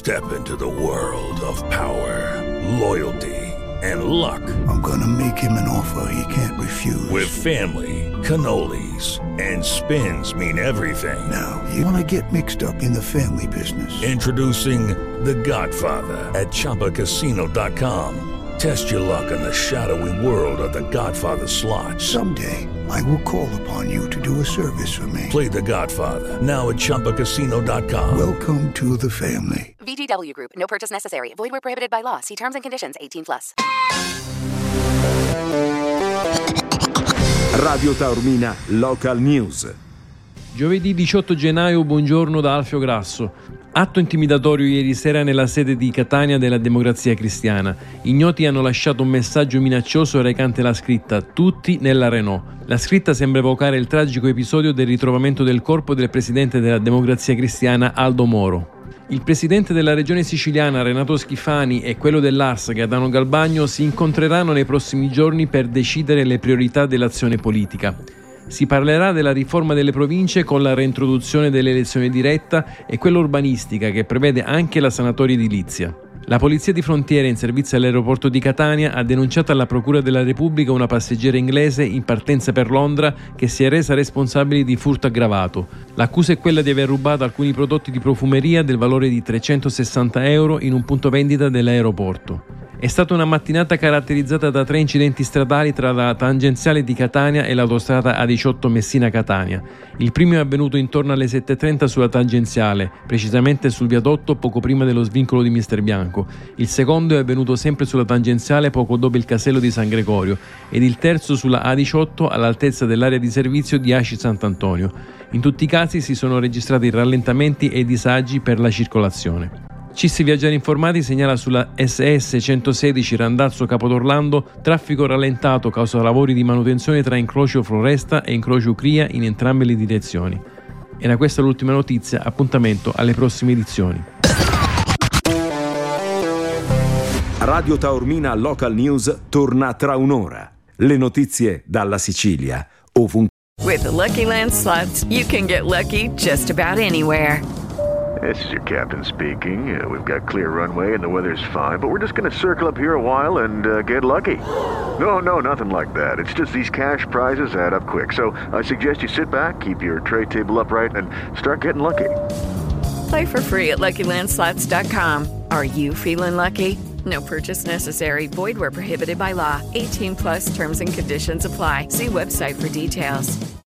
Step into the world of power, loyalty, and luck. I'm gonna make him an offer he can't refuse. With family, cannolis, and spins mean everything. Now, you wanna get mixed up in the family business. Introducing The Godfather at ChumbaCasino.com. Test your luck in the shadowy world of The Godfather slot. Someday, I will call upon you to do a service for me. Play The Godfather, now at ChumbaCasino.com. Welcome to the family. VGW Group. No purchase necessary. Void where prohibited by law. See terms and conditions. 18+. Radio Taormina Local News. Giovedì 18 gennaio, buongiorno da Alfio Grasso. Atto intimidatorio ieri sera nella sede di Catania della Democrazia Cristiana. Ignoti hanno lasciato un messaggio minaccioso recante la scritta "Tutti nella Renault". La scritta sembra evocare il tragico episodio del ritrovamento del corpo del presidente della Democrazia Cristiana Aldo Moro. Il presidente della regione siciliana Renato Schifani e quello dell'ARS Gaetano Galbagno si incontreranno nei prossimi giorni per decidere le priorità dell'azione politica. Si parlerà della riforma delle province con la reintroduzione dell'elezione diretta e quella urbanistica che prevede anche la sanatoria edilizia. La Polizia di Frontiera in servizio all'aeroporto di Catania ha denunciato alla Procura della Repubblica una passeggera inglese in partenza per Londra che si è resa responsabile di furto aggravato. L'accusa è quella di aver rubato alcuni prodotti di profumeria del valore di €360 in un punto vendita dell'aeroporto. È stata una mattinata caratterizzata da 3 incidenti stradali tra la tangenziale di Catania e l'autostrada A18 Messina-Catania. Il primo è avvenuto intorno alle 7:30 sulla tangenziale, precisamente sul viadotto poco prima dello svincolo di Mister Bianco. Il secondo è avvenuto sempre sulla tangenziale poco dopo il casello di San Gregorio ed il terzo sulla A18 all'altezza dell'area di servizio di Aci Sant'Antonio. In tutti i casi si sono registrati rallentamenti e disagi per la circolazione. CIS Viaggiare Informati segnala sulla SS 116 Randazzo Capodorlando traffico rallentato causa lavori di manutenzione tra incrocio Floresta e incrocio Ucria in entrambe le direzioni. Era questa l'ultima notizia, appuntamento alle prossime edizioni. Radio Taormina Local News torna tra un'ora. Le notizie dalla Sicilia, ovunque. With the Lucky Land Slots, you can get lucky just about anywhere. This is your captain speaking. We've got clear runway and the weather's fine, but we're just going to circle up here a while and get lucky. No, nothing like that. It's just these cash prizes add up quick. So I suggest you sit back, keep your tray table upright, and start getting lucky. Play for free at LuckyLandSlots.com. Are you feeling lucky? No purchase necessary. Void where prohibited by law. 18+ terms and conditions apply. See website for details.